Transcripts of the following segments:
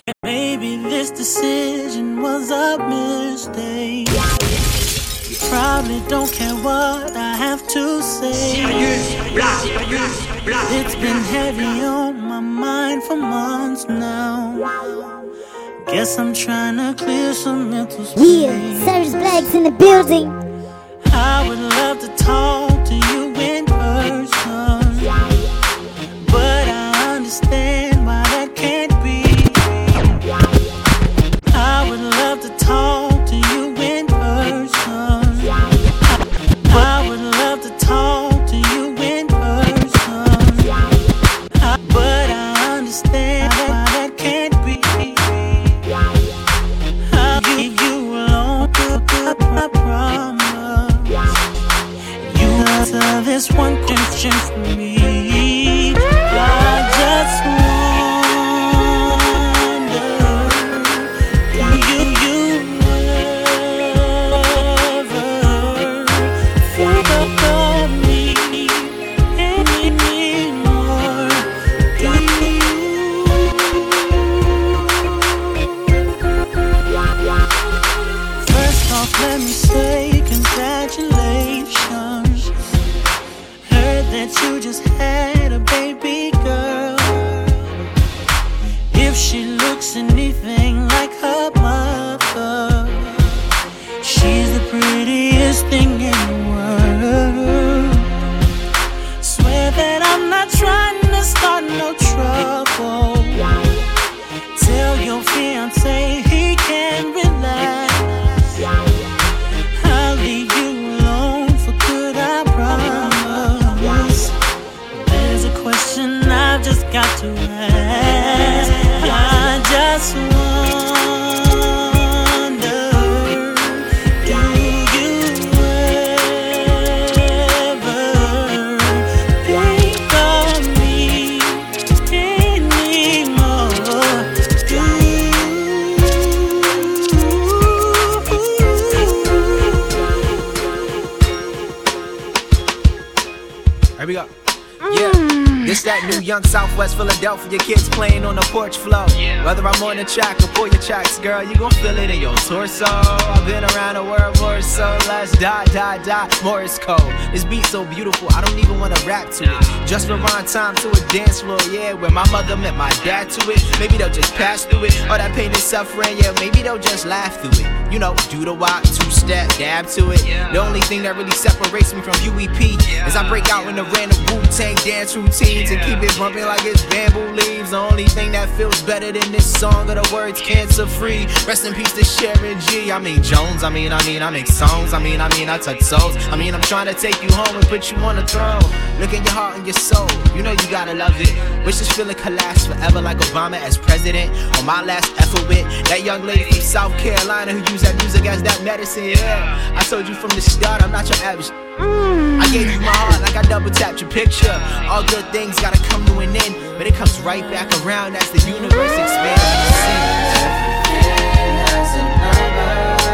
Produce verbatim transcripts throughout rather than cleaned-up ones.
Maybe this decision was a mistake. You probably don't care what I have to say. It's been heavy on my mind for months now. Guess I'm trying to clear some mental space. Yeah, Cyrus Black's in the building. I would love to talk to you in person, but I understand why that can't be. I would love to talk to you in person. I would love to talk to you in person, but I understand why that can't be. I'll give you alone, I promise. You answer this one question for me. I just wonder, do you, you ever think about me anymore? Do you? First off, let me say congratulations. Heard that you just had a baby girl. If she looks anything like her mother, she's the prettiest thing in the world. Swear that I'm not trying to start no trouble. Tell your fiancé he can relax. I'll leave you alone for good, I promise. There's a question I've just got to ask. I just wonder, do you ever think of me anymore? Do Here we go. Yeah. This that new young Southwest Philadelphia kids playing on the porch floor. Whether I'm on the track or pull your tracks, girl, you gon' feel it in your torso. I've been around the world more so. Let's die, die, die. Morris code. This beat so beautiful, I don't even wanna rap to it. Just rewind time to a dance floor, yeah, where my mother met my dad to it. Maybe they'll just pass through it. All that pain and suffering, yeah, maybe they'll just laugh through it. You know, do the walk, two-step, dab to it. The only thing that really separates me from U E P is I break out in the random Wu-Tang dance routines and keep it bumping like it's bamboo leaves. The only thing that feels better than this song are the words cancer-free. Rest in peace to Sharon G. I mean Jones, I mean, I mean, I make songs. I mean, I mean, I touch souls. I mean, I'm trying to take you home and put you on the throne. Look in your heart and your soul, you know you gotta love it. Wish this feeling could last forever like Obama as president. On my last effort with that young lady from South Carolina who used that music as that medicine, yeah. I told you from the start, I'm not your average. I gave you my heart like I double tapped your picture. All good things gotta come to an end, but it comes right back around as the universe expands. Everything has a number.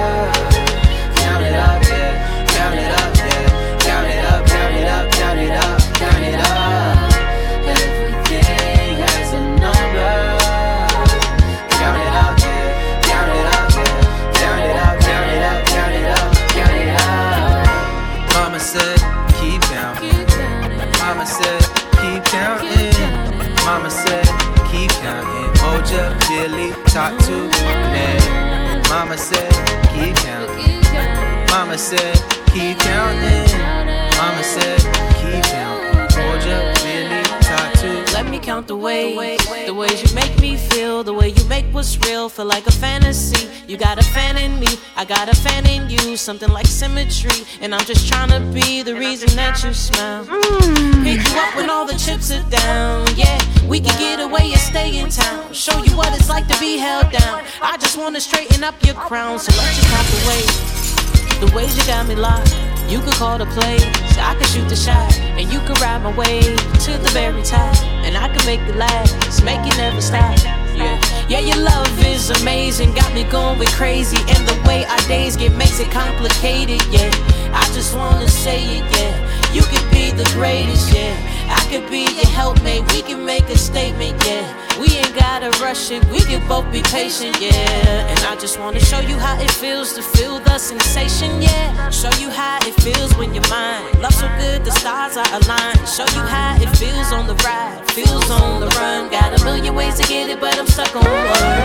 Count it up, yeah. Count it up, yeah. Count it up, count it up, count it up, count it up. Everything has a number. Count it up, yeah. Count it up, yeah. Count it up, count it up, count it up, count it up. Mama said, keep counting. Mama said, keep counting. Mama said, keep counting. Moja, Billy, talk to me. Mama said, keep counting. Mama said, keep counting. Mama said, keep counting. Moja, Billy, talk to me. Let me count the ways, the ways you make me feel, the way you make what's real feel like a fantasy. You got a fan in me, I got a fan in you, something like symmetry. And I'm just trying to be the reason that you smile. Pick you up when all the chips are down, yeah. We can get away and stay in town. Show you what it's like to be held down. I just wanna straighten up your crown, so let's just count the ways. The ways you got me locked. You could call the plays, I could shoot the shot, and you could ride my wave to the very top, and I could make it last, make it never stop. Yeah, yeah, your love is amazing, got me going crazy, and the way our days get makes it complicated. Yeah, I just wanna say it. Yeah, you could be the greatest. Yeah, I could be your helpmate, we can make a statement, yeah. We ain't gotta rush it, we can both be patient, yeah. And I just wanna show you how it feels to feel the sensation, yeah. Show you how it feels when you're mine. Love so good, the stars are aligned. Show you how it feels on the ride, feels on the run. Got a million ways to get it, but I'm stuck on one,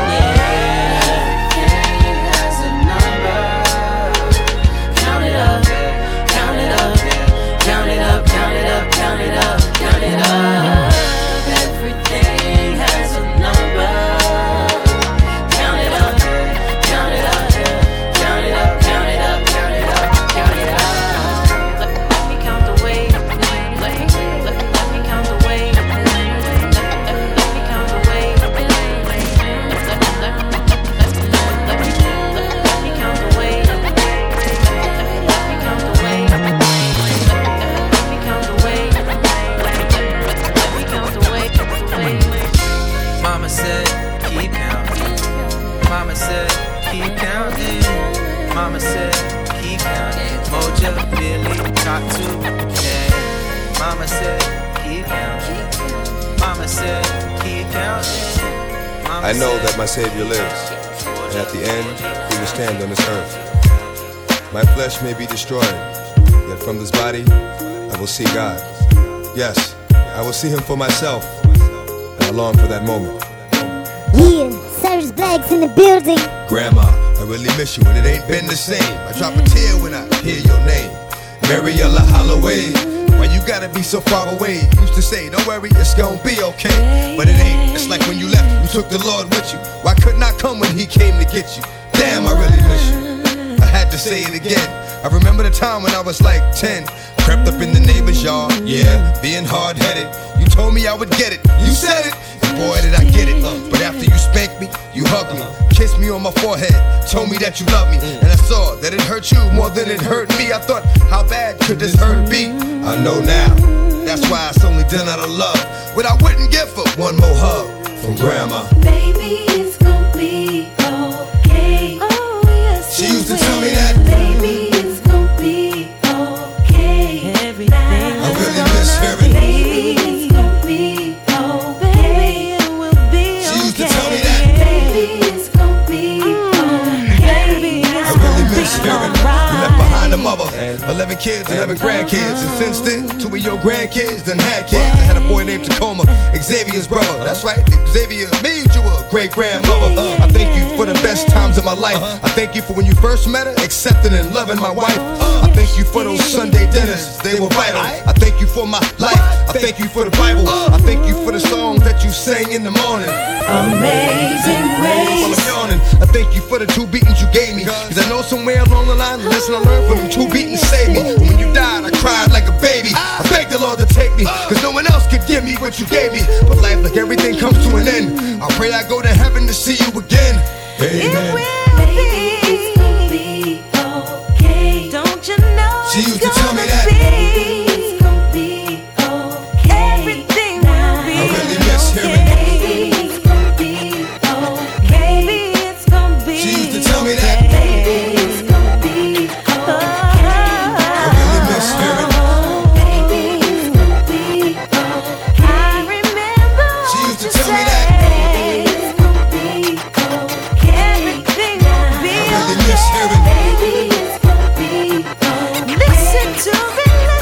yeah. Has a number. Count it up, count it up, count it up, count it up, count it up, count it up. Everything has a number. Count it up, count it up, count it up, count it up, count it up, count it up. Let, let me count the way. Let, let, let, let me count the way. Let, let, let me count the way. Let, let, let, let, let, let me, let, let me count the way. Let, let me count the way. Let me count the way. Let me count the way. Mama said, keep counting. Mama said, keep counting. Mama said, keep counting. Moja, Billy, Tatu, yeah. Mama said, keep counting. Mama said, keep counting. Mama I know said, that my Savior lives, and at the end, He will stand on this earth. My flesh may be destroyed, yet from this body, I will see God. Yes, I will see Him for myself, and I long for that moment. Yeah, Cyrus Black's in the building. Grandma, I really miss you, and it ain't been the same. I drop a tear when I hear your name. Mariella Holloway, why you gotta be so far away? Used to say, don't worry, it's gonna be okay. But it ain't, it's like when you left, you took the Lord with you. Why couldn't I come when He came to get you? Damn, I really miss you. I had to say it again. I remember the time when I was like ten. Crept up in the neighbor's yard, yeah, being hard-headed. You told me I would get it, you said it, and boy did I get it. But after you spanked me, you hugged me, kissed me on my forehead, told me that you loved me. And I saw that it hurt you more than it hurt me. I thought, how bad could this hurt be? I know now, that's why it's only done out of love. What I wouldn't give for one more hug from Grandma. Baby, it's gonna be okay. Oh, yes, She used to tell me that. Baby, it's gonna be okay. Everything I really miss hearing. Baby, it's gonna be okay. Baby, it will be She used to okay. tell me that. Baby, it's gonna be okay. Baby, I it's really gonna miss be hearing. alright. You left behind a mother, eleven kids, eleven grandkids. And since then, two of your grandkids done had kids. I had a boy named Tacoma, Xavier's brother. That's right, Xavier made you a great grandmother. I thank you for the best times of my life. I thank you for when you first met her, accepting and loving my wife. I thank you for those Sunday dinners, they were vital. I thank you for my life, I thank you for the Bible. I thank you for the songs that you sang in the morning. Amazing While grace. I'm yawning, I thank you for the two beatings you gave me. Cause I know somewhere along the line, the lesson I learned from them two beatings saved me. When you died, I cried like a baby. I begged the Lord to take me, cause no one else could give me what you gave me. But life, like everything, comes to an end. I pray I go to heaven to see you again. It Amen. will Baby, it's gonna be okay. Don't you know She it's used to tell me gonna that. be It's gonna be okay. everything will be I really miss hearing. Baby, it's gonna be okay. Baby, it's gonna be She used to tell me that. Baby, it's gonna be okay. I really miss hearing. Baby, it's gonna be okay. I remember She used to what you tell me that. said. Baby, it's gonna be okay. Everything will be I really miss hearing. Baby, it's gonna be okay. Listen to me.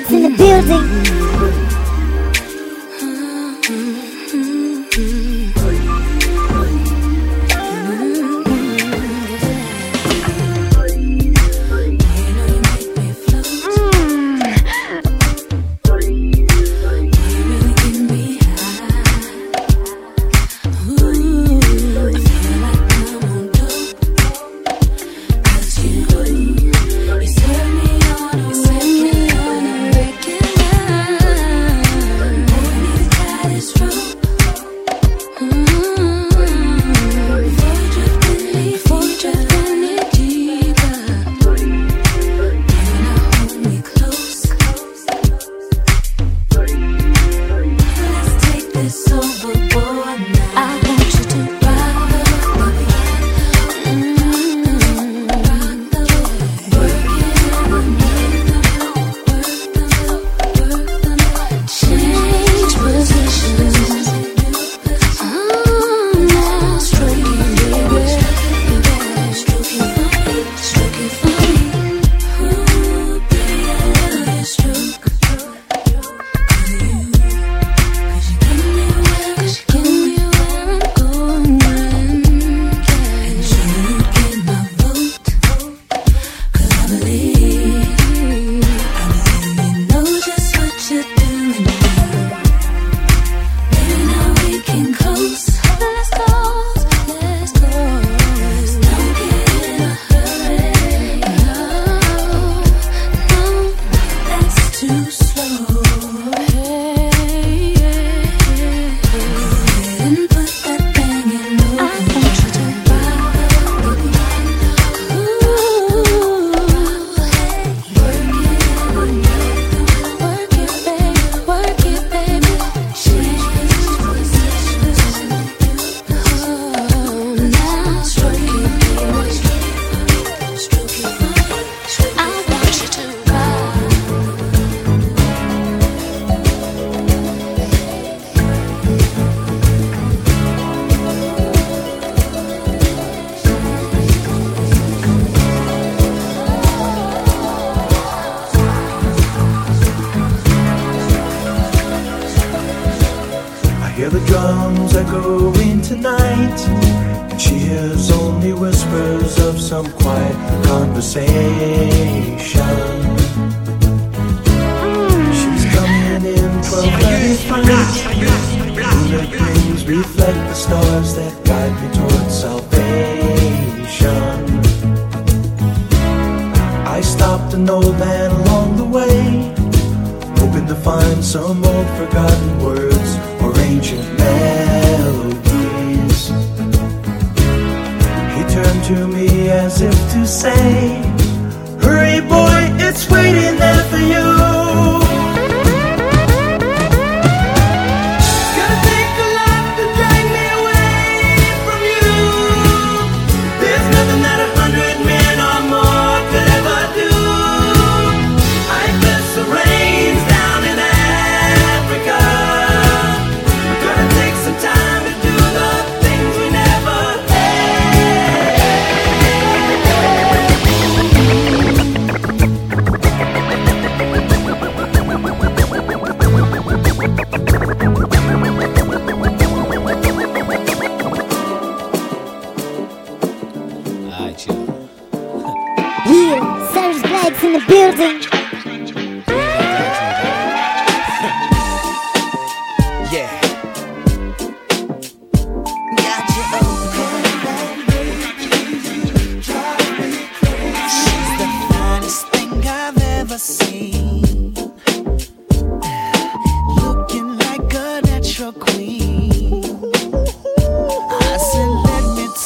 Blags in the building.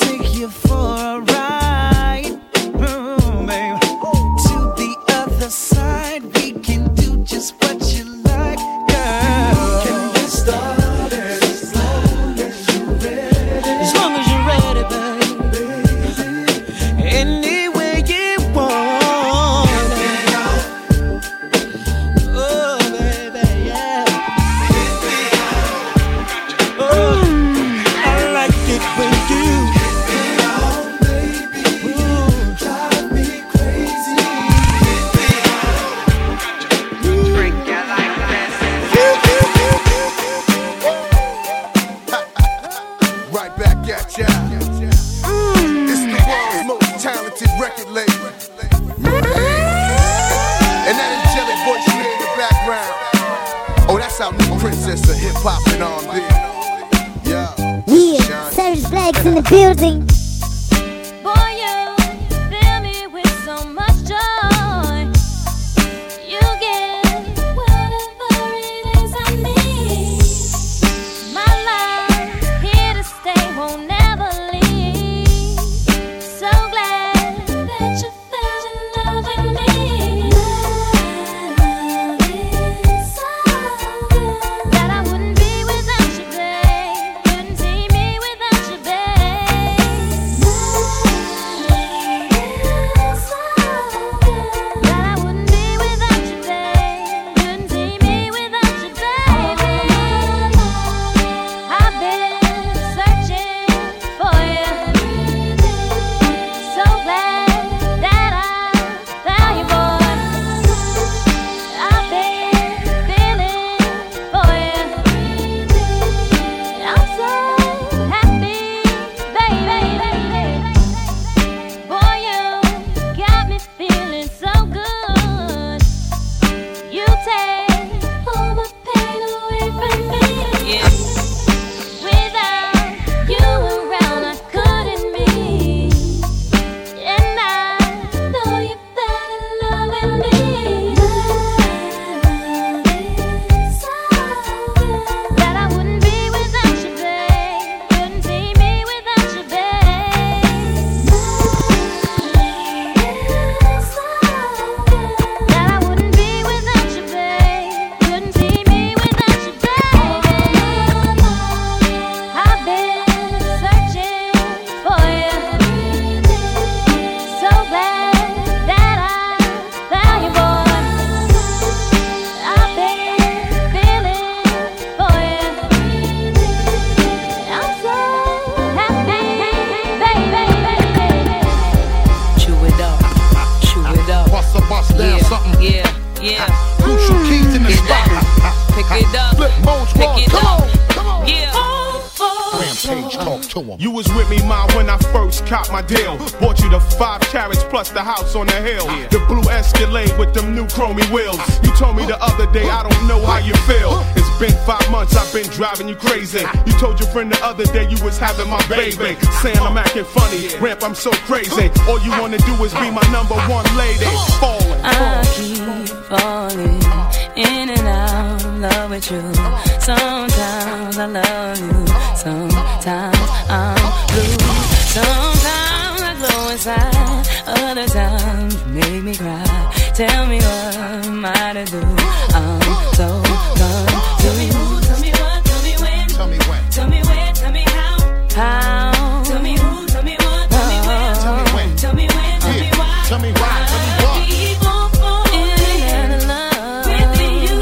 For a ride, mm, babe, to the other side. that's our new princess of hip hop and R and B. Yeah. Yeah, Savage Blags in the building. Boy, you fill me with so much joy. You get whatever it is I need. My love, here to stay, won't never leave. So glad that you fell in love with me. Love is so good that I wouldn't be without you, babe. Couldn't see me without you, babe. Love is so good that I wouldn't be without you, babe. Couldn't see me without you, baby. I've been searching for you. So glad that I found you, boy. I've been feeling for you. I'm so happy, baby. Boy, you got me feeling so good. You take all my pain away from me. Yeah. Without you around, I couldn't be. And I know you fell in love with me. Love is so good that I wouldn't be without you, babe. Couldn't see me without you, babe. Love is so good that I wouldn't be without you, babe. Couldn't see me without you, babe. I've been searching for you. So glad that I found you, boy. I've been feeling for you. I'm so happy, baby. Chew it up, chew it up. Bust a bust down Yeah, something. yeah, yeah. Crucial keys in the spot. Pick it up, Flip mode squad. pick it Come up. on, come on. Yeah. Rampage, talk to him. You was with me, ma, when I first copped my deal. Bought you the five carats plus the house on the hill. The blue Escalade with them new chromey wheels. You told me the other day, I don't know how you feel. It's been five months, I've been driving you crazy. You told your friend the other day you was having my baby. Saying I'm acting funny, Ramp, I'm so crazy. All you wanna do is be my number one lady. Falling. I keep falling in and out of love with you. Sometimes I love you, sometimes I'm blue. Sometimes I glow inside, other times you make me cry. Tell me what am I to do? I'm so confused. Tell me who, tell me what, tell me when, Tell me when. tell me where, tell me how, how. Tell me who, tell me what, tell me where, Tell me when. tell me when, tell me Yeah. why. Tell me why. Tell me what. Keep on falling in love with you.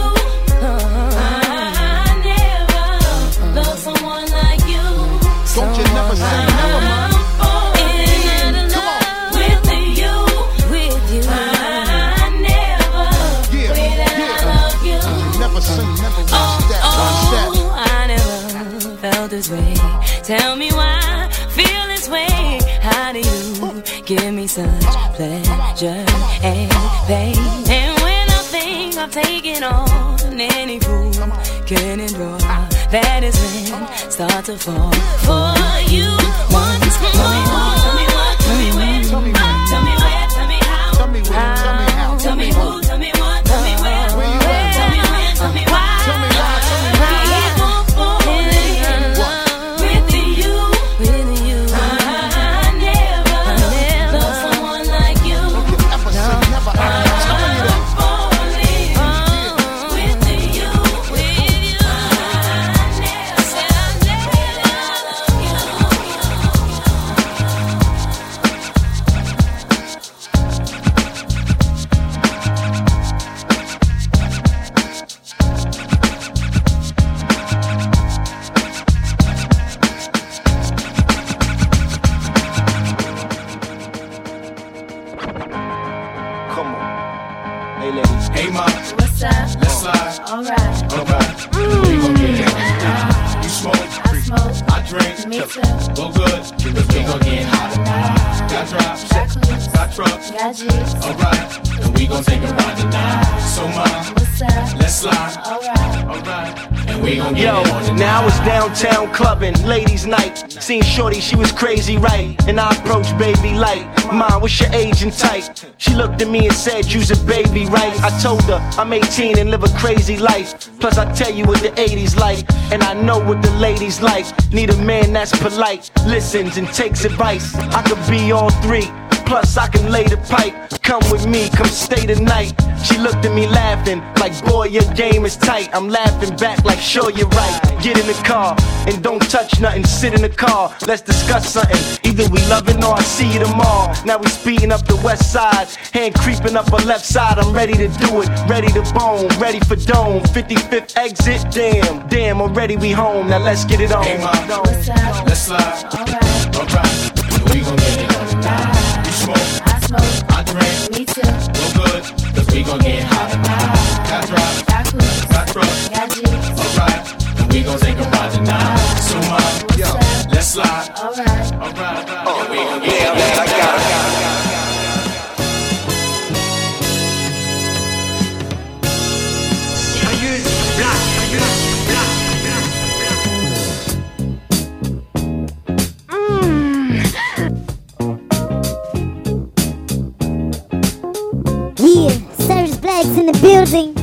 I never loved someone like you. Don't you never say never, man. I'm falling in Come on. love with you, with you. I never Yeah, way that I yeah. love you. Never say never. One step, one step. Oh, I never felt this way. Tell me why I feel this way. How do you give me such pleasure and pain? And when I think I've taken on any fool can endure, that is when I start to fall for you once more. Tell me what, tell me when, Tell me when. tell me where, tell me how. Tell me when. Tell me how. Tell me who, tell me what, tell me where, Where you at? tell me when, tell me why. Tell me why. Tell me why. Keep on falling in love with you, with you. I never loved someone like you. Never say never. I'm telling you that. Falling with you, with you. I never said I Hey, ma, What's up? let's slide. Alright. Alright. We gon' get it. You smoke, I smoke. I drink. Me too. Go good, because we gon' get hot. Got drops, Got clues. got trucks. Got G's. Alright, and we gon' take a ride tonight. So, ma, What's up? let's slide. Alright. Alright. Yo, now I was downtown clubbing, ladies' night. Seen Shorty, she was crazy, right? And I approached baby like, Mom, what's your age and type? She looked at me and said, you's a baby, right? I told her, I'm eighteen and live a crazy life. Plus I tell you what the eighties like, and I know what the ladies like. Need a man that's polite, listens and takes advice. I could be all three, plus I can lay the pipe. Come with me, come stay the night. She looked at me laughing, like boy your game is tight. I'm laughing back like sure you're right. Get in the car, and don't touch nothing, sit in the car. Let's discuss something, either we loving or I see you tomorrow. Now we speeding up the west side, hand creeping up her left side. I'm ready to do it, ready to bone, ready for dome. fifty-fifth exit, damn, damn, already we home. Now let's get it on. Hey mom, let's slide, alright, alright. We gon' get it on tonight. You smoke, I smoke, I drink, me too. No good, cause we gon' get hot tonight. Got drive, got cruise, got truck, got G's, alright. And we gon' take a ride tonight. So mom, yo, let's slide, alright, alright. Oh, we gon' get yeah, man, I got it, got it. Yeah, Cyrus Black's in the building.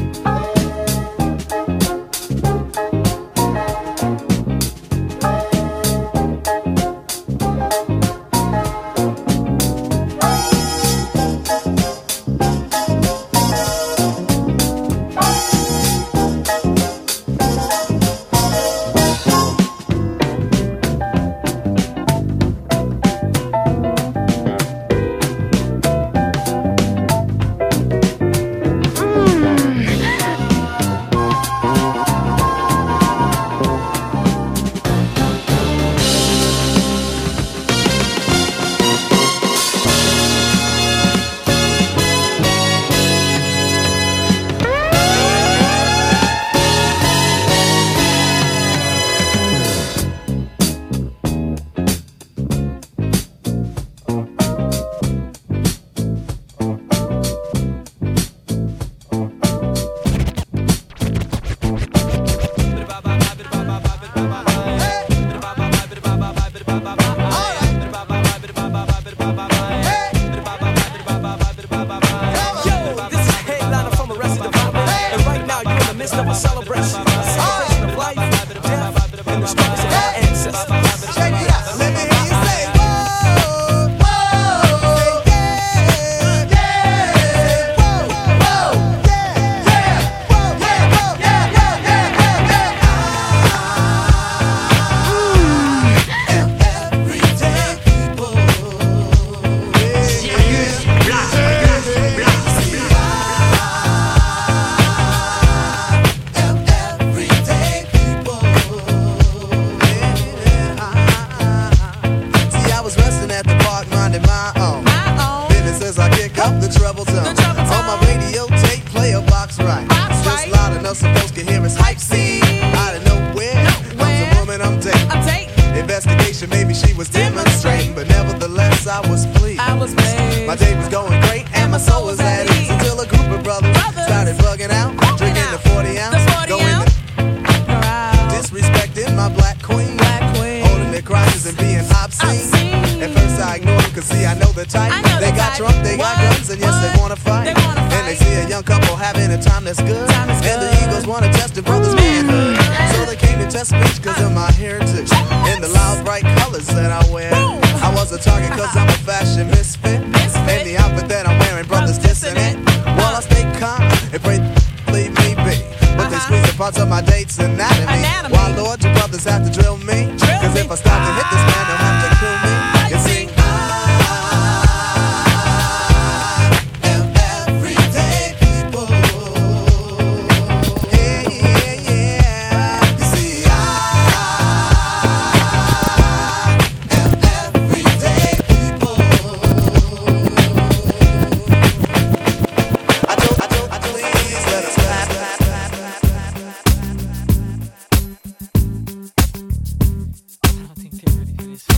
I don't think they're ready for this.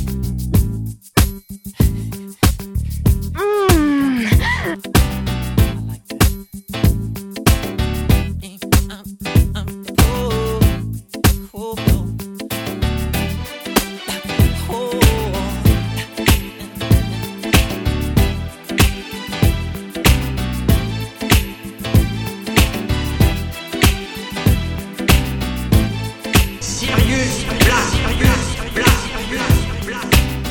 Sirius Black, Black, Black, Black, Black.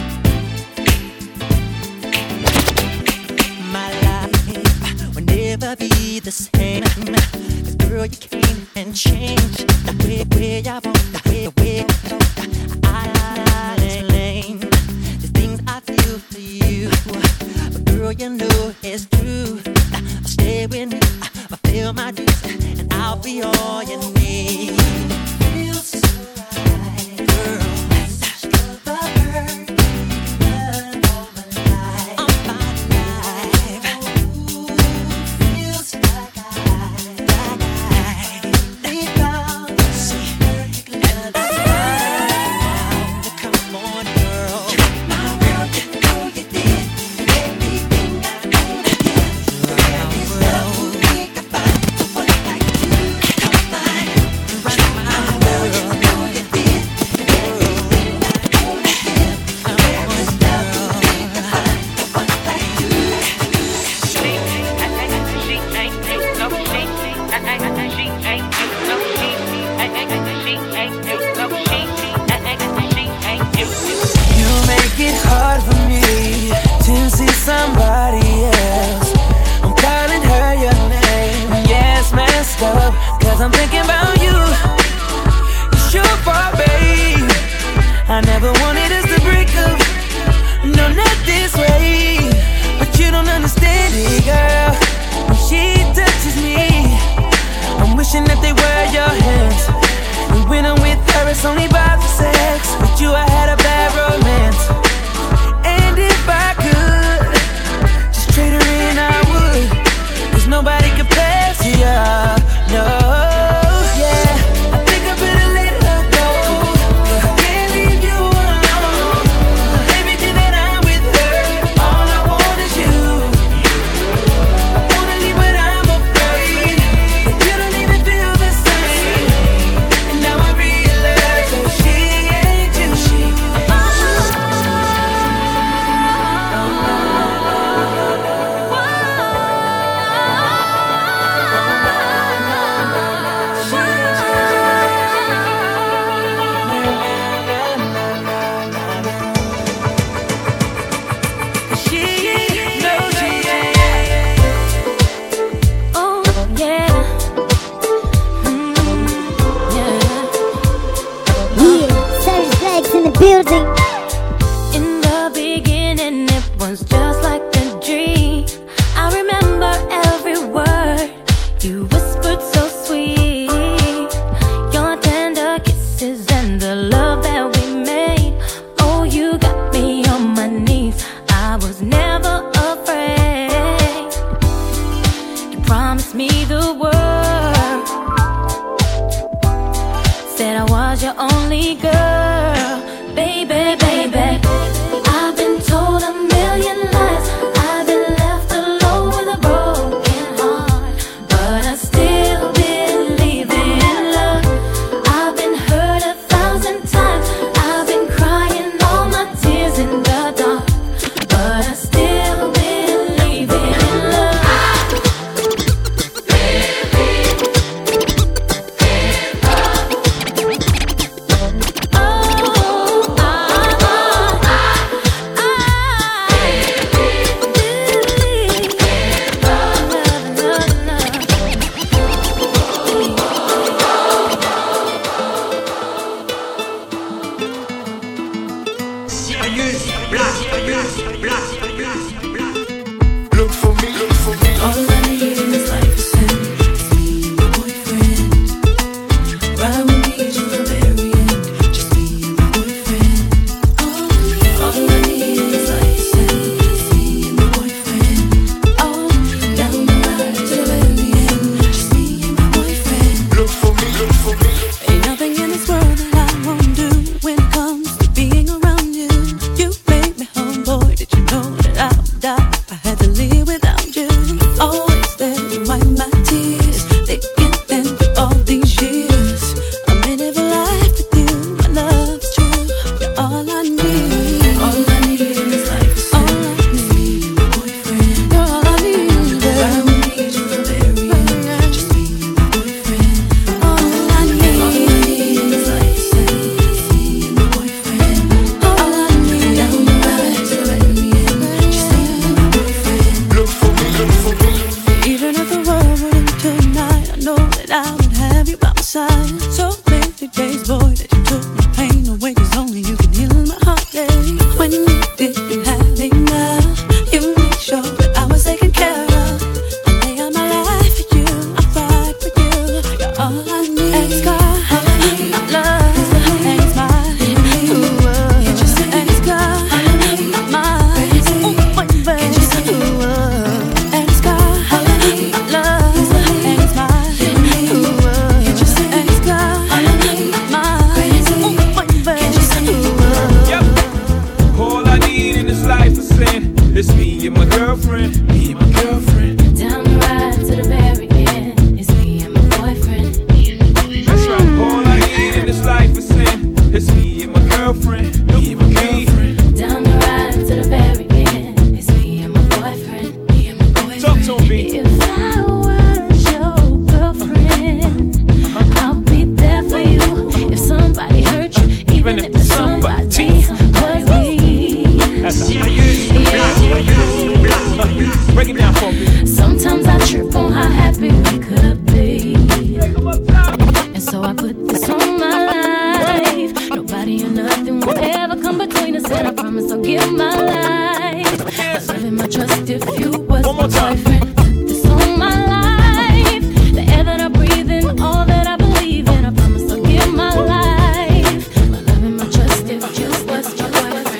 My life will never be the same. Cause girl, you came and changed the way, way I want, the way, the way I explain the things I feel for you. But girl, you know it's true. I'll stay with you, I'll feel my dues, and I'll be all you need. Feels so right, girl. That's the bird. Somebody else, I'm calling her your name. Yeah, it's messed up, cause I'm thinking about you. It's your fault, babe. I never wanted us to break up. No, not this way. But you don't understand it, girl. When she touches me, I'm wishing that they were your hands. And when I'm with her, it's only about the sex. With you, I had a bad romance. And if I could trade her in, I would. Cause nobody compares to ya. No, yeah. I think I better let her go. I can't leave you alone. Everything that I'm with her, all I want is you. I wanna leave but I'm afraid that you don't even feel the same. And now I realize that she ain't you. She building. In the beginning, it was just like a dream. I remember every word you whispered so sweet. Your tender kisses and the love that we made. Oh, you got me on my knees. I was never afraid. You promised me the world. Said I was your only girl. Baby, baby, I've been told a million lies. I've been left alone with a broken heart, but I still believe in love. I've been hurt a thousand times. I've been crying all my tears in the dark, but I still believe in love. Oh, living for somebody. That's how. Break it down for me. Sometimes I trip on how happy we could be, and so I put this on my life. Nobody or nothing will ever come between us, and I promise I'll give my life. My love and my trust if you was my boyfriend. Put this on my life. The air that I breathe in, all that I believe in, I promise I'll give my life. My love and my trust if you was my boyfriend.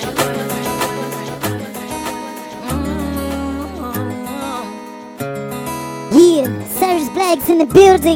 Yeah, Cyrus Black's in the building.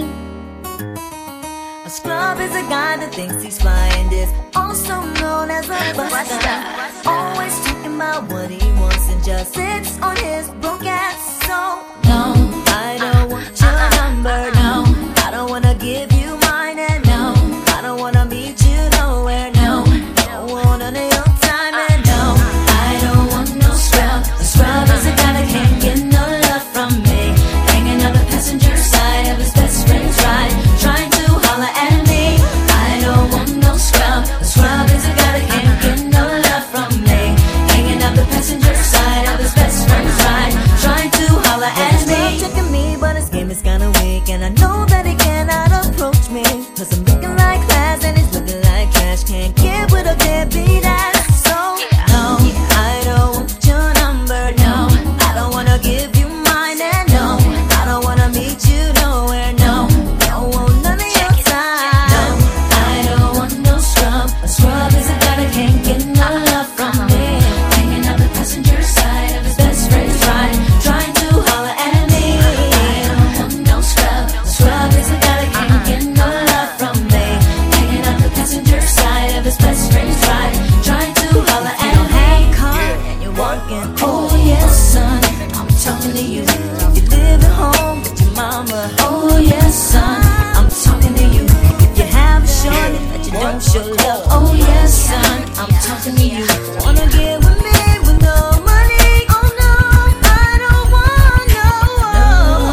A scrub is a guy that thinks he's flying, is also known as a buster. Always talking about what he wants and just sits on his broke ass. So no, I don't want your number. No, I don't wanna give you mine. And no, I don't wanna meet you nowhere. No, don't want none of your time. And no, I don't want no scrub. A scrub is a guy that can't get no love from me. Hanging on the passenger side of his best friend's ride, trying to holler at me. I don't want no scrub. A scrub is a guy that can't get no love from me. Hanging out the passenger side of his best friend's ride, trying to holler at me. He's checking me, but his game is kinda weak, and I know that he cannot approach me, cause I'm looking like class and he's looking like trash. Can't get with a deadbeat ass. So no, I don't want your number. No, I don't wanna give you mine. And no, I don't wanna meet you nowhere. No, don't want none of your time. No, I don't want no scrub. A scrub is a guy that can't get no love from me. Hanging out the passenger side of his best friend's ride, trying to holler at me. I don't want no scrub. A scrub is a guy that can't get no love from me. Hanging out the passenger side of his best friend's ride, trying to holler at me. You don't have a car and you're walking. Oh yes, son, I'm talking to you. You live at home with your mama. Oh yes, son, I'm talking to you. If you have a shorty that you don't show love. Oh yes, son, I'm talking to you. Wanna get with me with no money? Oh no, I don't want no.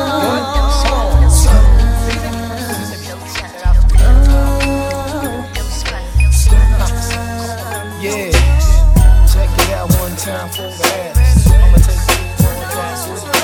Yeah, check it out one time for the ass. I'ma take you to the class with the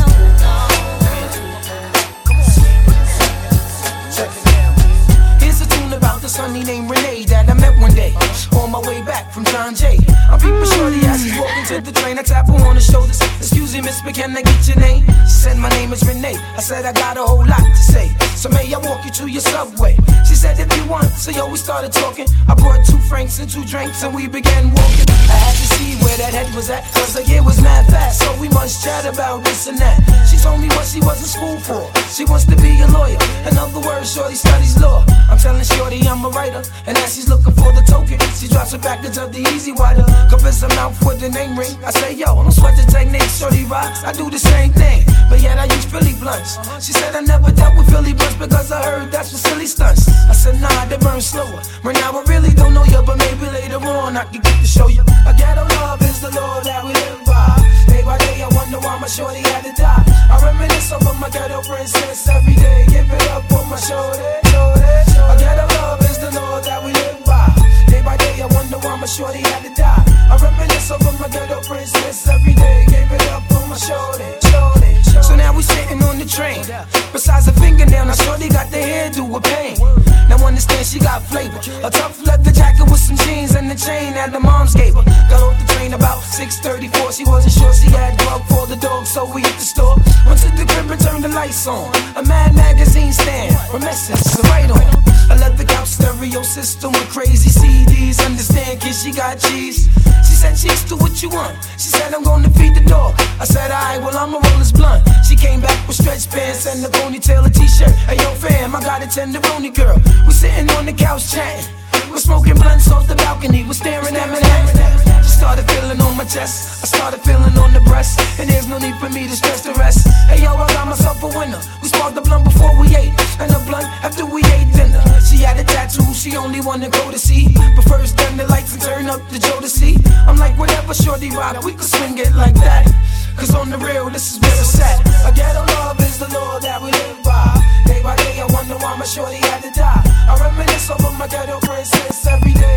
Here's a tune about this honey named Renee that I met one day on my way back from John Jay. I'm peeping shorty as she's walking to the train. I tap her on the shoulders. Excuse me, miss, but can I get your name? She said my name is Renee. I said I got a whole lot to say, so may I walk you to your subway? She said if you want, so yo, we started talking. I brought two francs and two drinks and we began walking. I had to see where that head was at, cause the year was mad fast, so we must chat about this and that. She told me what she was in school for. She wants to be a lawyer. In other words, shorty studies law. I'm telling shorty I'm a writer, and as she's looking for the token, she drops a package of the Easy Wider. Convince her mouth with the name ring. I say yo, don't sweat the technique, shorty rocks. I do the same thing, but yet I use Philly blunts. She said I never dealt with Philly blunts because I heard that's for silly stunts. I said nah, they burn slower. Right now I really don't know you, but maybe later on I can get to show you. A ghetto love is the law that we live by. Day by day I wonder why my shorty had to die. I reminisce over my ghetto princess every day. Give it up on my shoulder, shoulder, shoulder. A ghetto love is the law that we live by. Day by day I wonder why my shorty had to die. I reminisce over my ghetto princess every day. Give it up on my shoulder, shoulder, shoulder. So now we sitting on the train. Besides a fingernail, now shorty got the hairdo with pain. Now understand she got flavor. A tough leather jacket with some jeans and the chain that the moms gave her. Got off the train about six thirty-four. She wasn't sure she had grub for the dog, so we hit the store. Went to the crib and turned the lights on. A Mad magazine stand from Essence, so right on. I left the couch stereo system with crazy C Ds. Understand, kid, she got cheese. She said, cheeks, do what you want. She said, I'm gonna feed the dog. I said, alright, well, I'ma roll this blunt. She came back with stretch pants and a ponytail, a t-shirt. Hey, yo, fam, I got a tenderoni girl. We sitting on the couch chatting. We're smoking blunts off the balcony. We're staring at Manhattan. She started feeling on my chest. I started feeling on the breast. And there's no need for me to stress the rest. Hey, yo, I got myself a winner. We sparked the blunt before we ate, and the blunt after we ate dinner. She had a tattoo, she only wanna go to see. But first, turn the lights and turn up the Jodeci. I'm like, whatever, shorty rock, we could swing it like that. Cause on the real, this is where it's at. A ghetto love is the law that we live by. Day by day, I wonder why my shorty had to die. I reminisce over my ghetto princess every day.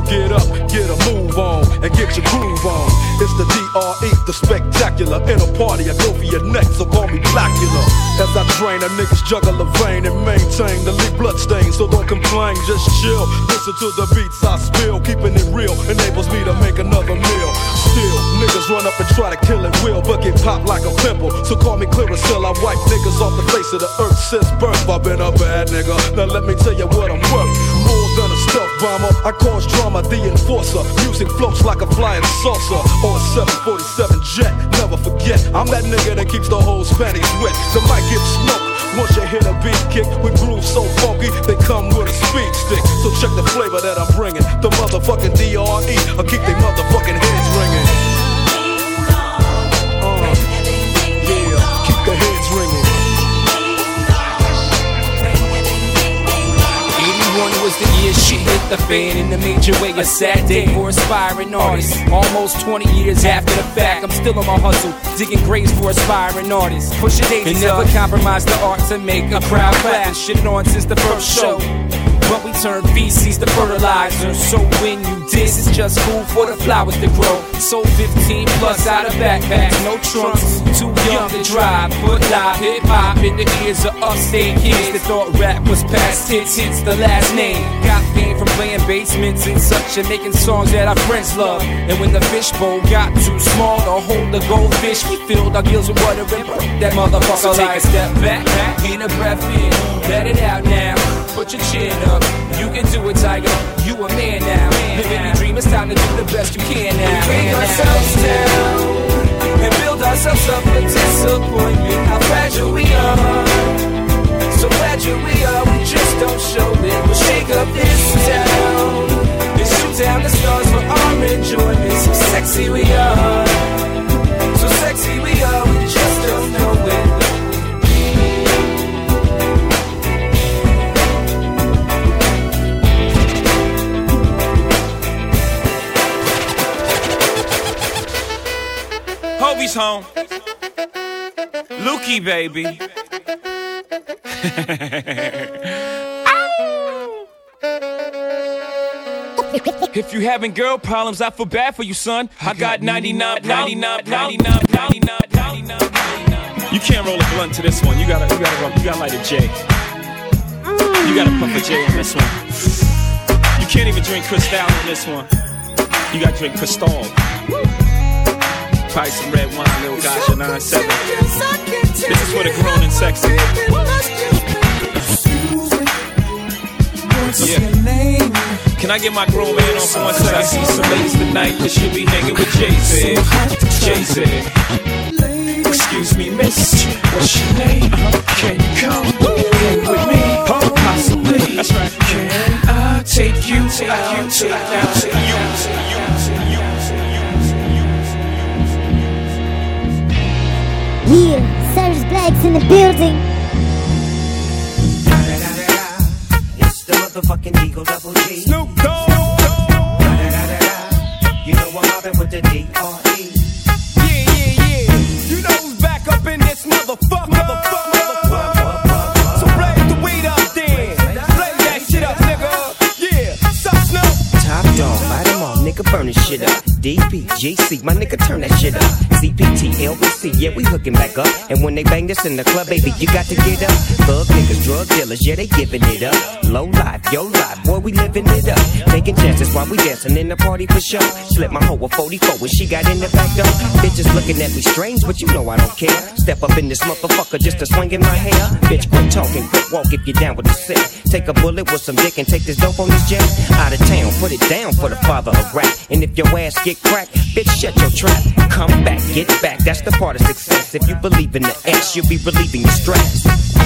get up, get a move on, and get your groove on. It's the D R E, the spectacular. In a party, I go for your neck, so call me Blackula. As I train, a niggas juggle a vein and maintain the leak blood stain. So don't complain, just chill. Listen to the beats I spill. Keeping it real enables me to make another meal. Still, niggas run up and try to kill it will, but get popped like a pimple. So call me Clearasil. I wipe niggas off the face of the earth since birth. I've been a bad nigga. Now let me tell you what I'm worth. More than a stealth bomber, I cause drama, the enforcer. Music floats like a flying saucer on a seven forty-seven jet. Never forget, I'm that nigga that keeps the whole panties wet. The mic gets smoked once you hit a beat kick with grooves so funky they come with a speed stick. So check the flavor that I'm bringing. The motherfucking D R E, I keep they motherfucking heads ringing. Uh, yeah, keep the heads ringing. eighty-one was the year shit hit the fan in a major way. A sad day for aspiring artists. Almost twenty years after the fact, I'm still on my hustle, digging graves for aspiring artists. Push it and never compromise the art to make a crowd clap. And shit on since the first show, but we turn feces to fertilizer. So when you diss, it's just food for the flowers to grow. Sold fifteen plus out of backpacks, no trunks, too young to drive. But live hip hop in the ears of upstate kids that thought rap was past hits. Hits the last name. Got pain from playing basements and such, and making songs that our friends love. And when the fishbowl got too small to hold the goldfish, we filled our gills with water and broke that motherfucker. So take a step back, get a breath in, let it out now. Put your chin up, you can do it, Tiger. You a man now. Living your dream, it's time to do the best you can now. We break ourselves down and build ourselves up for disappointment. How fragile we are, so fragile we are. We just don't show it. We'll shake up this town and shoot down the stars for our enjoyment. So sexy we are, so sexy we are. We just don't know it. Hobie's home. Lukey, baby. If you having girl problems, I feel bad for you, son. I got ninety-nine, ninety-nine, ninety-nine, ninety-nine, ninety-nine. You can't roll a blunt to this one. You gotta, you gotta, you gotta light a J. You gotta puff a J on this one. You can't even drink Cristal on this one. You gotta drink Cristal. Probably some red wine, little gotcha, nine seven. This is for the grown and sexy. Yeah. Can I get my grown man on for one second? I see some ladies tonight that should be hanging with Jay-Z. Jay-Z. Excuse me, miss, what's your name? Uh-huh. Can you come hang with me? Oh, possibly. That's right. Can I take you out, take you out, take you out? Yeah, Cyrus Black's in the building. It's the motherfucking Eagle Double G. Snoop Dogg. You know I'm mobbing with the D R E. Yeah, yeah, yeah. You know who's back up in this motherfucker. Motherfucker, motherfucker. So blaze the weed up then. Blaze that shit up, nigga. Yeah, sup, Snoop? Top dog, light 'em all, nigga, burn this shit up. D P G C, my nigga, turn that shit up. C P T, L B C, yeah, we hooking back up. And when they bang this in the club, baby, you got to get up. Thug niggas, drug dealers, yeah, they giving it up. Low life, yo life, boy, we living it up. Taking chances while we dancing in the party for sure. Slip my hoe a forty-four when she got in the back door. Bitches looking at me strange, but you know I don't care. Step up in this motherfucker just to swing in my hair. Bitch, quit talking, quit walk if you're down with the sick. Take a bullet with some dick and take this dope on this jet. Out of town, put it down for the father of rap. And if your ass get cracked, bitch, shut your trap. Come back, get back, that's the part of success. If you believe in the ass, you'll be relieving your stress.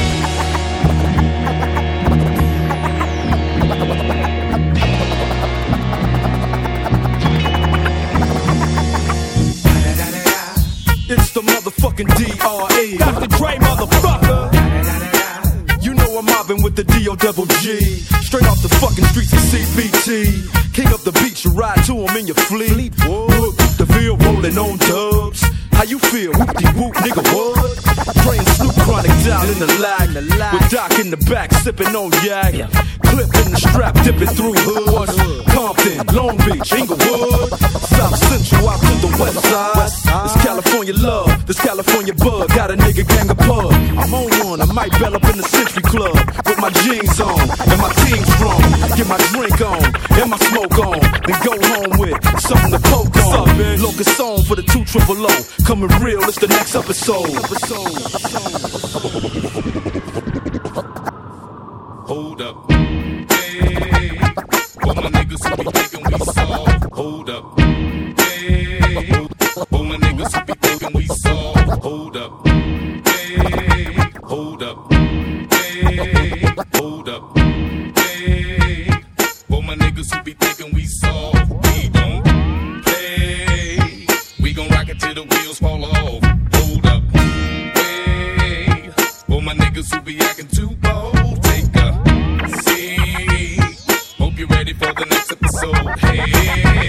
It's the motherfucking D R E. Doctor Dre, motherfucker. You know I'm mobbing with the D O double G. Straight off the fucking streets of C B T. King up the beach, you ride to him in your fleet. Whoop, the Ville rolling on dubs. How you feel? Whoop-de-whoop, nigga, what? Praying Snoop Chronic down in the lag. With Doc in the back, sipping on yak. Clip in the strap, dipping through hood. Comp Compton, Long Beach, Inglewood, South Central out to the west side. It's California love, this California bug. Got a nigga gang of pub. I'm on one, I might bell up in the Century Club with my jeans on and my team strong. Get my drink on and my smoke on, then go home with something to poke on. Locust song for the two triple O. Coming real, it's the next episode. Hold up. Hey, all my niggas who be thinking we soft. Hold up. Hey, all my niggas who be thinking we soft. Hold up. Hey, hold up. Hey, hold up. Hey, all my niggas who be thinking we soft. We don't play. We gon' rock it till the wheels fall off. Hold up. Hey, all my niggas who be acting too bold. Take a seat. Hope you're ready for the next episode. Hey.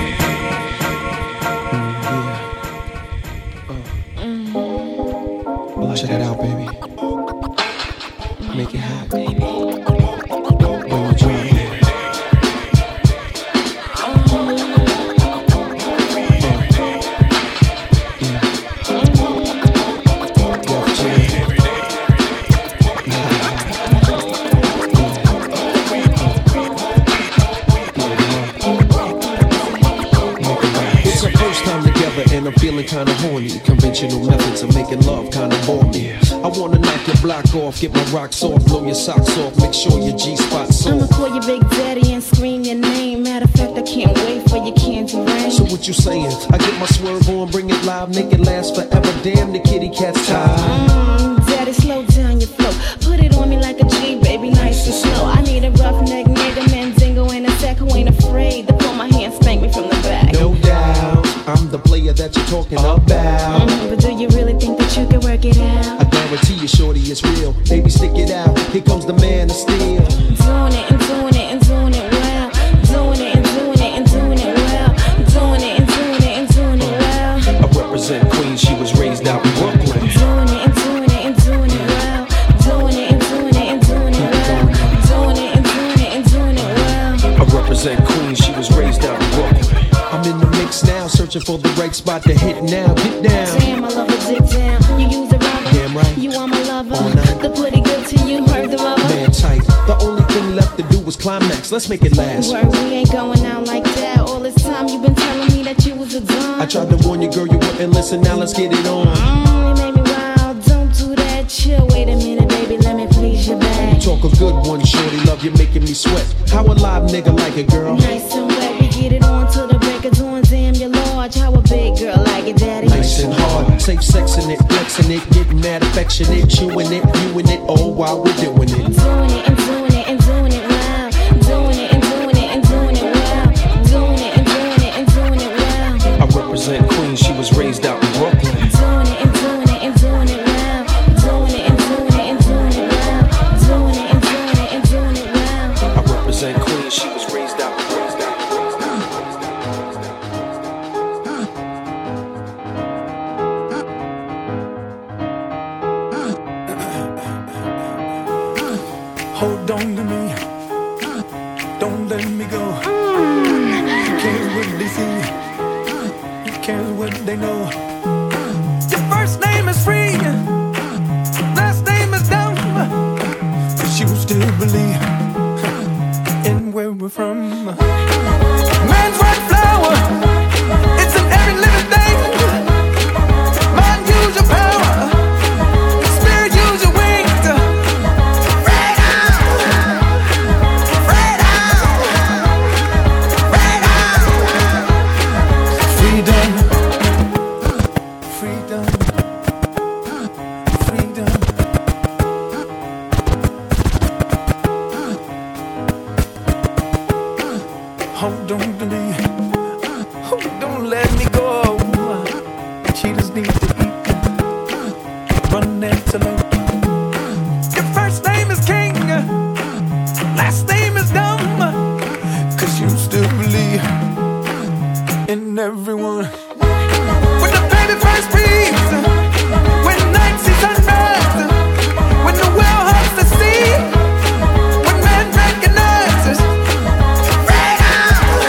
Blush that out, baby. Make it hot, baby. When you drop it. And I'm feeling kinda horny. Conventional methods of making love kinda bore me. I wanna knock your block off, get my rocks off, blow your socks off, make sure your G-spot's off. I'ma call your big daddy and scream your name. Matter of fact, I can't wait for your candy rain. So what you saying? I get my swerve on, bring it live, make it last forever. Damn, the kitty cat's tired. Mm, daddy, slow down your flow. Put it on me like a G, baby, nice and slow. I need a roughneck nigga, Mandingo in a sack who ain't afraid to pull my hand, spank me from the back. No doubt, I'm the player that you're talking about. Mm, but do you really think that you can work it out? I guarantee you, shorty, it's real. Baby, stick it out. Here comes the man of steel. Doing it and doing it and doing it well. Doing it and doing it and doing it well. Doing it and doing it and doing it well. I represent Queens, she was raised out in Brooklyn. Doing it and doing it and doing it well. Doing it and doing it and doing it well. Doing it and doing it and doing it well. I represent Queens, she was raised out in Brooklyn. I'm in the mix now, searching for the right spot to hit now. Get down. Damn, I love a dick down. You use a rubber. Damn right. You are my lover. The pretty good to you, heard the rubber. Man tight. The only thing left to do was climax. Let's make it last. Word, we ain't going out like that. All this time you've been telling me that you was a dumb. I tried to warn you, girl, you wouldn't listen. Now let's get it on. Mm, you made me wild. Don't do that. Chill. Wait a minute, baby. Let me please you back. Talk a good one, shorty. Love you making me sweat. How a live nigga like it, girl? Nice and wet. We get it on till the break of dawn. Damn, you're large. How a big girl like it, daddy? Nice and hard. Safe sexing it, flexing it, getting mad affectionate, chewing it, viewing it, all while we're doing it. Doing it and doing it and doing it well. Doing it and doing it and doing it well. Doing it and doing it and doing it well. I represent Queens, she was raised out in Brooklyn. Doing it and doing it and doing it well. Doing it and doing it and doing it well. Doing it and doing it and doing it well. I represent Queens, she was raised out, raised out, raised out. Hold on to me, don't let me go. You care what they see, you care what they know. Your first name is free, last name is dumb, but you still believe in where we're from. Man's white flower, it's in every living thing. Mind, use your power, spirit, use your wings. Hold on to me, oh, don't let me go. Cheetahs need to eat, run antelope. Your first name is King, last name is Dumb, cause you still believe in everyone. When the baby first beats, when night sees sunrise, when the whale hugs the sea, when man recognizes freedom.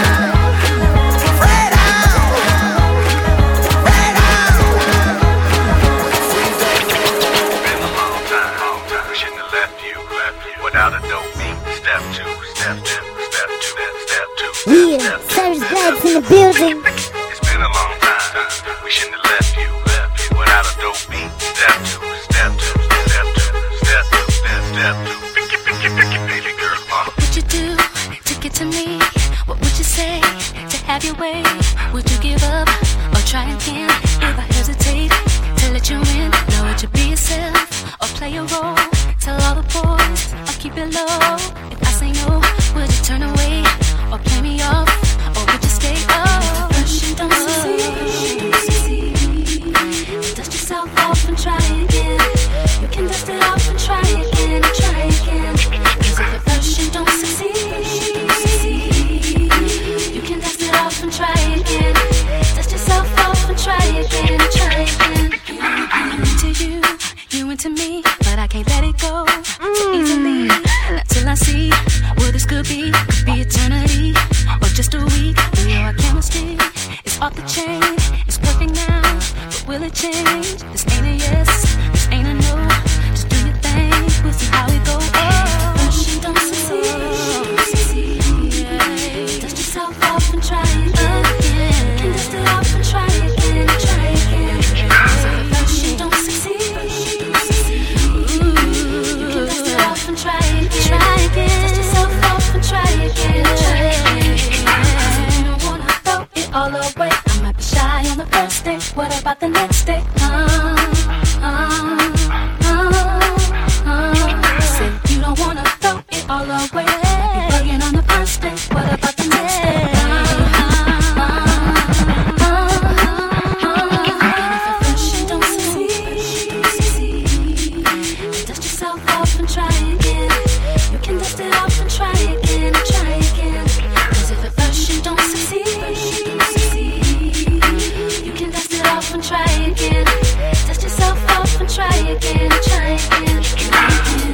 Yeah, Cyrus Black's in the building. It's been a long time. We shouldn't have left you, left you without a dope beat. Step two, step two, step two, step two, step, step two. Picky, picky, picky, baby girl. Uh. What would you do to get to me? What would you say to have your way? Would you give up or try again? If I hesitate to let you in, now would you be yourself or play a role? Tell all the boys I'll keep it low. If I say no, would you turn away or play me off? Or would you stay up? First you don't succeed. Dust yourself off and try again. You can dust it off and try again, try again. Cause if at first you don't succeed, you can dust it off and try again. Dust yourself off and try again, try again. I'm into you, you into me, but I can't let it go so easily. Not till I see what this could be. Could be eternity or just a week. We know our chemistry is off the chain. It's perfect now, but will it change? This ain't a yes, this ain't a no. Just do your thing, we'll see how it goes. Oh, first you don't succeed. Dust yourself off and try again. You can dust it off and try again, try again. First you don't succeed. You can dust it off and try again, try again. Dust yourself off and try again, try again. You don't wanna throw it all away. I might be shy on the first day. What about the next day? Uh, uh, uh, uh. Say you don't wanna throw it all away. Might be bugging on the first day. What about the next day? Try again, dust yourself off and try again, try again, try again.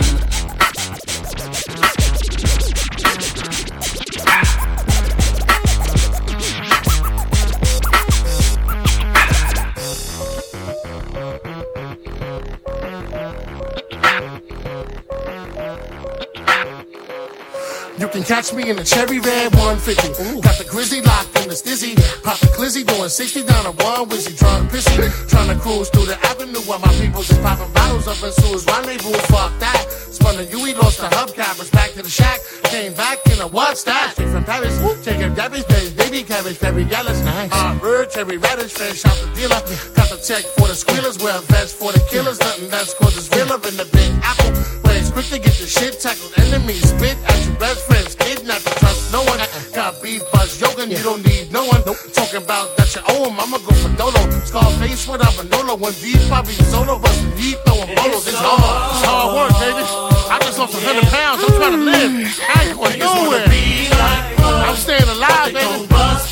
You can catch me in the cherry red one fifty. Ooh. Got the grizzly locked in the stizzy. Pop the glizzy doing sixty down a one wizzy. Trying to pissy. Trying to cruise through the avenue while my people's just popping bottles up in Sue's rendezvous. Fuck that. Spun the U E, lost the hubcappers. Back to the shack. Came back in a what's that? Straight from Paris. Taking Debbie's face. Baby cabbage. Very yellow. Nice. Hot bird. Cherry radish. Fresh out the dealer. Got the check for the squealers. Wear vest for the killers. Nothing that's cause it's realer in the big apple. Where it's quick to get the shit tackled. Enemies spit at your best friends. Kidnap to trust no one. Got beef, buzz, yoga, you don't need no one. Nope. Talking about that you owe him, I'ma go for Dolo. Scarface without Manolo. One deep, probably solo, but some deep, throwing bolos. It's hard. It's hard work, baby. I just lost a hundred pounds. I'm trying to live. I ain't going nowhere. I'm staying alive, baby.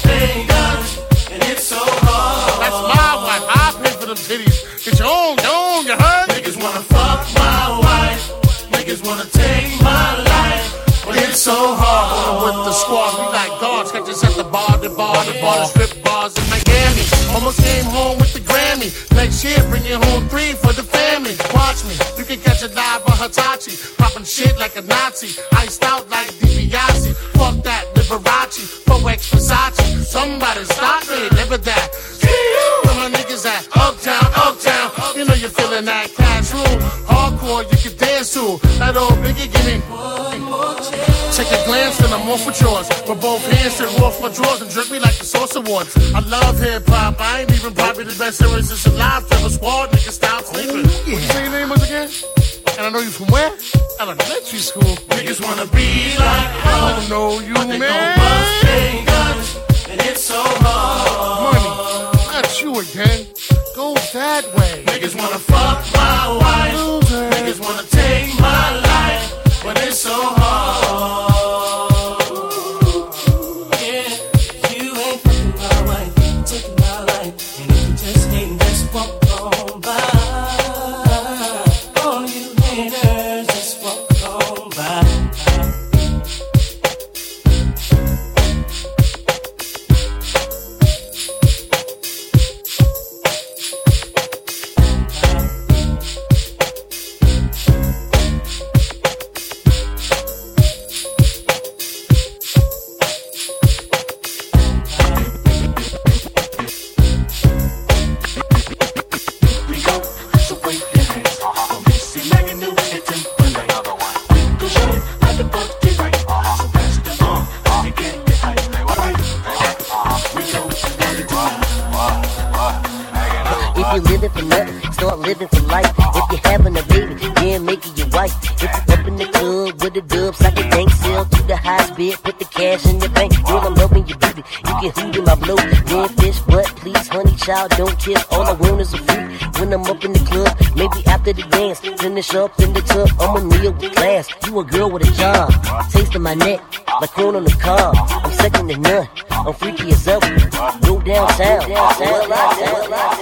And it's so hard. That's my wife. I pay for them titties. Get your own, your own, you heard? Niggas wanna fuck my wife. Niggas wanna take my life. But it's so hard with the squad. We like guards, catch us at the bar, the bar, the bar, the strip bars in Miami. Almost came home with the Grammy. Next year, bring it home three for the family. Watch me, you can catch it live on Hitachi. Popping shit like a Nazi. Iced out like DiBiase. Fuck that, Liberace. four X Versace. Somebody stop me, never that. Where my niggas at? Uptown, uptown. You know you're feeling that cash room. Hardcore, you can dance to. That old Biggie, give me one more chance. Take a glance and I'm off with yours. With both hands and off my drawers and jerk me like the Source Awards. I love hip hop. I ain't even probably the best series that's alive. Tell the squad, niggas stop sleeping. What you say your name was again? And I know you from where? Elementary school. Niggas wanna be like us. I don't know you, but they man. Gon' bust they guns, and it's so hard. Money, not you again. Go that way. Niggas wanna fuck my wife. Loser. Niggas wanna take my life, but it's so hard. Yeah, you ain't fucking my wife, taking my life, and if you just ain't, just walk on by. All you haters, just walk on by. you living for nothing, start living for life. If you're having a baby, yeah, make it your wife. If you up in the club with the dubs, like a bank sell to the highest bid, put the cash in your bank. Girl, I'm loving you, baby. You can hoot in my blow, then fish, but please, honey, child, don't kiss. All I want is a fruit when I'm up in the club. Maybe after the dance, finish up in the tub. I'm a meal with class. You a girl with a job, tasting my neck like corn on the cob. I'm second to none. I'm freaky as ever. Go downtown. downtown, downtown, downtown.